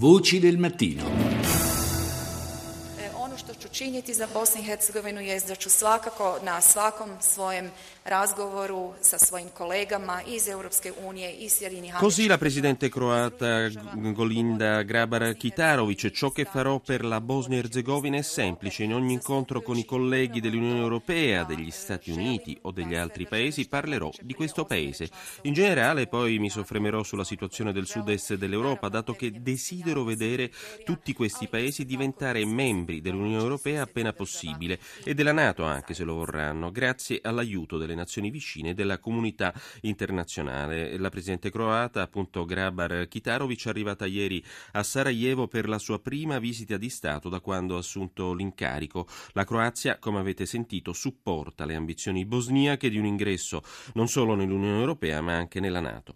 Voci del mattino. Ono što ću činiti za Bosnu i Hercegovinu je da ću svakako na svakom svojem razgovoru sa svojim kolegama iz Europske unije i Sjedinjenih Američkih. Così la presidente croata Kolinda Grabar-Kitarović: ciò che farò per la Bosnia-Erzegovina è semplice. In ogni incontro con i colleghi dell'Unione Europea, degli Stati Uniti o degli altri paesi parlerò di questo paese. In generale poi mi soffermerò sulla situazione del sud-est dell'Europa, dato che desidero vedere tutti questi paesi diventare membri dell'Unione Europea appena possibile e della NATO anche se lo vorranno, grazie all'aiuto delle nazioni vicine e della comunità internazionale. La presidente croata, appunto Grabar-Kitarović, è arrivata ieri a Sarajevo per la sua prima visita di Stato da quando ha assunto l'incarico. La Croazia, come avete sentito, supporta le ambizioni bosniache di un ingresso non solo nell'Unione Europea ma anche nella NATO.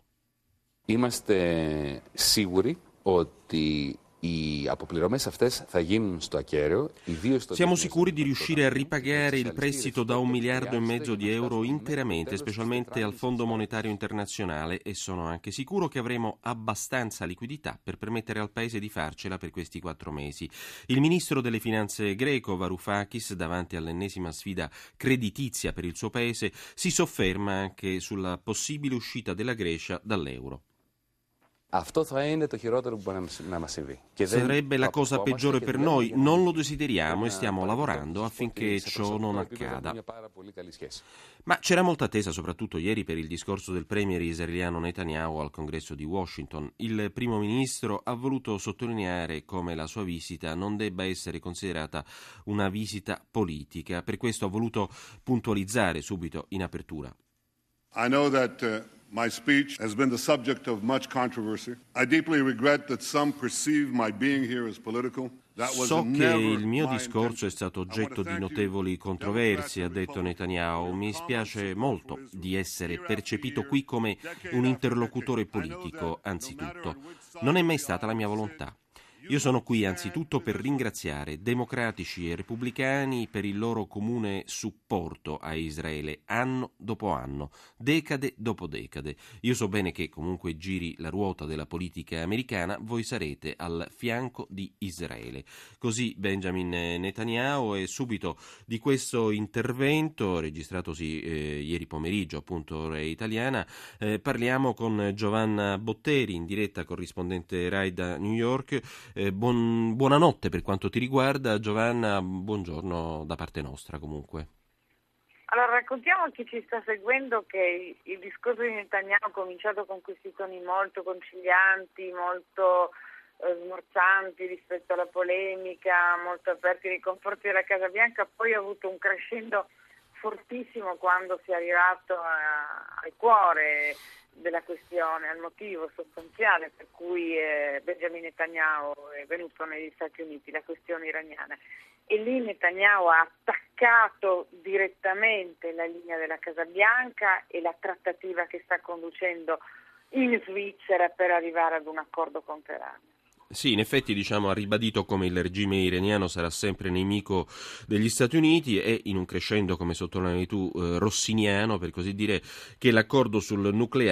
Είμαστε σίγουροι ότι οι αποπληρωμές αυτές θα γίνουν στο ακέραιο. Siamo sicuri di riuscire a ripagare il prestito da 1,5 miliardi di euro interamente, specialmente al Fondo Monetario Internazionale, e sono anche sicuro che avremo abbastanza liquidità per permettere al Paese di farcela per questi 4 mesi. Il ministro delle finanze greco, Varoufakis, davanti all'ennesima sfida creditizia per il suo Paese, si sofferma anche sulla possibile uscita della Grecia dall'euro. Αυτό θα είναι το χειρότερο που μπορεί να μας συμβεί. Sarebbe la cosa peggiore per noi, non lo desideriamo e stiamo lavorando affinché ciò non accada. Ma c'era molta attesa, soprattutto ieri, per il discorso del premier israeliano Netanyahu al congresso di Washington. Il primo ministro ha voluto sottolineare come la sua visita non debba essere considerata una visita politica. Per questo ha voluto puntualizzare subito in apertura. I know that my speech has been the subject of much controversy. I deeply regret that some perceive my being here as political. So che il mio discorso è stato oggetto di notevoli controversie, ha detto Netanyahu. Mi spiace molto di essere percepito qui come un interlocutore politico, anzitutto. Non è mai stata la mia volontà. Io sono qui anzitutto per ringraziare democratici e repubblicani per il loro comune supporto a Israele anno dopo anno, decade dopo decade. Io so bene che comunque giri la ruota della politica americana, voi sarete al fianco di Israele. Così Benjamin Netanyahu, e subito di questo intervento, registratosi ieri pomeriggio, appunto ora italiana, parliamo con Giovanna Botteri, in diretta corrispondente Rai da New York. Buonanotte per quanto ti riguarda, Giovanna, buongiorno da parte nostra comunque. Allora, raccontiamo a chi ci sta seguendo che il discorso di Netanyahu ha cominciato con questi toni molto concilianti, molto smorzanti rispetto alla polemica, molto aperti nei confronti della Casa Bianca, poi ha avuto un crescendo fortissimo quando si è arrivato al cuore della questione, al motivo sostanziale per cui Benjamin Netanyahu è venuto negli Stati Uniti, la questione iraniana. E lì Netanyahu ha attaccato direttamente la linea della Casa Bianca e la trattativa che sta conducendo in Svizzera per arrivare ad un accordo con Teheran. Sì, in effetti ha ribadito come il regime iraniano sarà sempre nemico degli Stati Uniti e, in un crescendo, come sottolineavi tu, rossiniano, per così dire, che l'accordo sul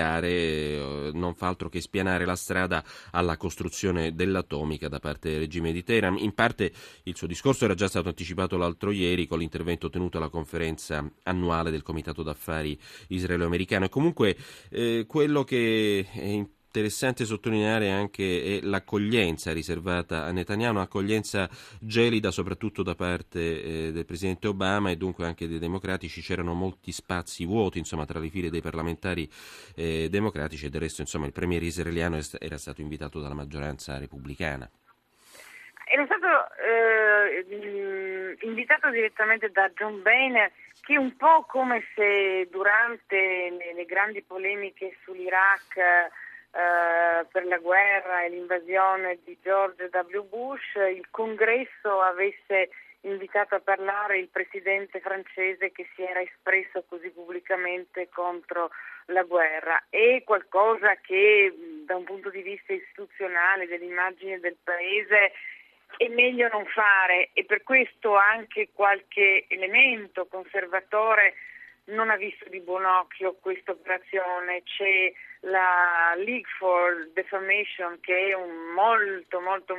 nucleare non fa altro che spianare la strada alla costruzione dell'atomica da parte del regime di Teheran. In parte il suo discorso era già stato anticipato l'altro ieri con l'intervento tenuto alla conferenza annuale del Comitato d'Affari israelo-americano, e comunque quello che è interessante sottolineare anche è l'accoglienza riservata a Netanyahu, un'accoglienza gelida soprattutto da parte del presidente Obama e dunque anche dei democratici. C'erano molti spazi vuoti tra le file dei parlamentari democratici, e del resto il premier israeliano era stato invitato dalla maggioranza repubblicana. Era stato invitato direttamente da John Boehner, che un po' come se durante le grandi polemiche sull'Iraq per la guerra e l'invasione di George W. Bush, il Congresso avesse invitato a parlare il presidente francese che si era espresso così pubblicamente contro la guerra. È qualcosa che da un punto di vista istituzionale, dell'immagine del paese, è meglio non fare, e per questo anche qualche elemento conservatore non ha visto di buon occhio questa operazione. C'è la League for Defamation, che è un molto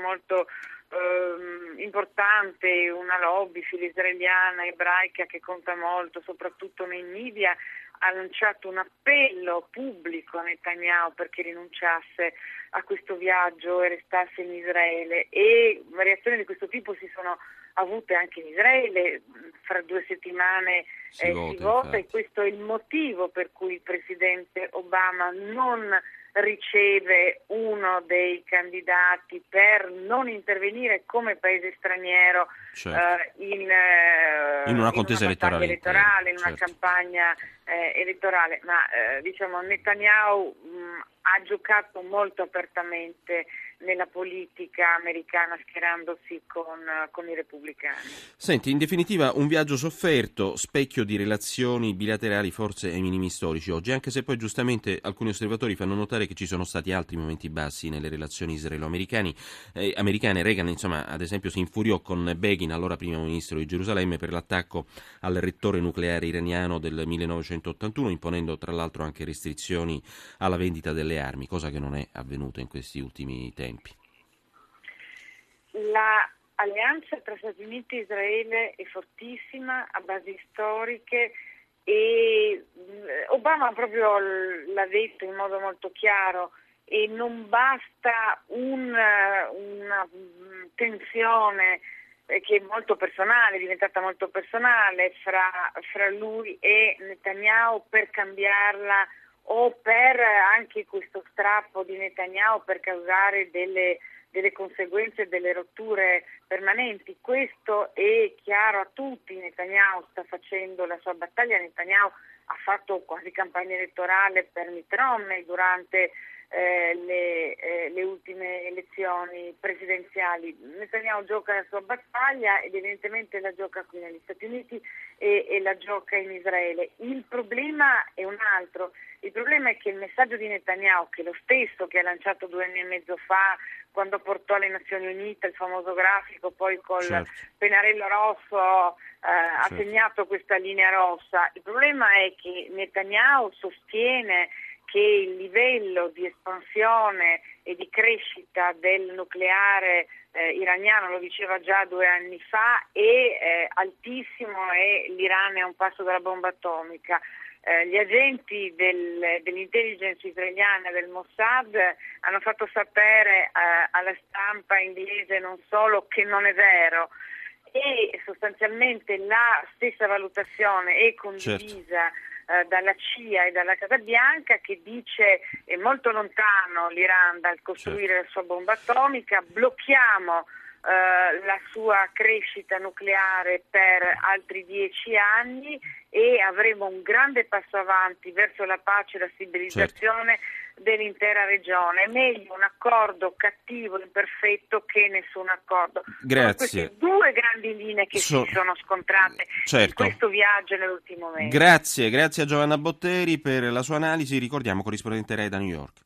importante, una lobby filo-israeliana, ebraica che conta molto, soprattutto nei media, ha lanciato un appello pubblico a Netanyahu perché rinunciasse a questo viaggio e restasse in Israele, e variazioni di questo tipo si sono avute anche in Israele. Fra 2 settimane si vota, e questo è il motivo per cui il presidente Obama non riceve uno dei candidati per non intervenire come paese straniero in una contesa elettorale, in una campagna elettorale. Ma diciamo Netanyahu ha giocato molto apertamente nella politica americana, schierandosi con i repubblicani. Senti, in definitiva un viaggio sofferto, specchio di relazioni bilaterali forse ai minimi storici oggi, anche se poi giustamente alcuni osservatori fanno notare che ci sono stati altri momenti bassi nelle relazioni israelo-americane. Reagan, insomma, ad esempio si infuriò con Begin, allora primo ministro di Gerusalemme, per l'attacco al reattore nucleare iraniano del 1981, imponendo tra l'altro anche restrizioni alla vendita delle armi, cosa che non è avvenuta in questi ultimi tempi. La alleanza tra Stati Uniti e Israele è fortissima, ha basi storiche, e Obama proprio l'ha detto in modo molto chiaro, e non basta una tensione che è molto personale, è diventata molto personale fra lui e Netanyahu, per cambiarla, o per anche questo strappo di Netanyahu per causare delle conseguenze, delle rotture permanenti. Questo è chiaro a tutti. Netanyahu sta facendo la sua battaglia. Netanyahu ha fatto quasi campagna elettorale per Mitt Romney durante le ultime elezioni presidenziali. Netanyahu gioca la sua battaglia ed evidentemente la gioca qui negli Stati Uniti e la gioca in Israele. Il problema è un altro. Il problema è che il messaggio di Netanyahu, che è lo stesso che ha lanciato 2 anni e mezzo fa, quando portò alle Nazioni Unite il famoso grafico, poi col pennarello rosso ha segnato questa linea rossa. Il problema è che Netanyahu sostiene che il livello di espansione e di crescita del nucleare iraniano, lo diceva già 2 anni fa, è altissimo, e l'Iran è a un passo dalla bomba atomica. Gli agenti dell'intelligence israeliana, del Mossad, hanno fatto sapere alla stampa inglese non solo che non è vero, e sostanzialmente la stessa valutazione è condivisa dalla CIA e dalla Casa Bianca, che dice è molto lontano l'Iran dal costruire la sua bomba atomica, blocchiamo la sua crescita nucleare per altri 10 anni e avremo un grande passo avanti verso la pace e la stabilizzazione dell'intera regione. È meglio un accordo cattivo, imperfetto, che nessun accordo. Grazie. Sono queste 2 grandi linee che si sono scontrate in questo viaggio nell'ultimo mese. Grazie a Giovanna Botteri per la sua analisi. Ricordiamo, corrispondente Rai da New York.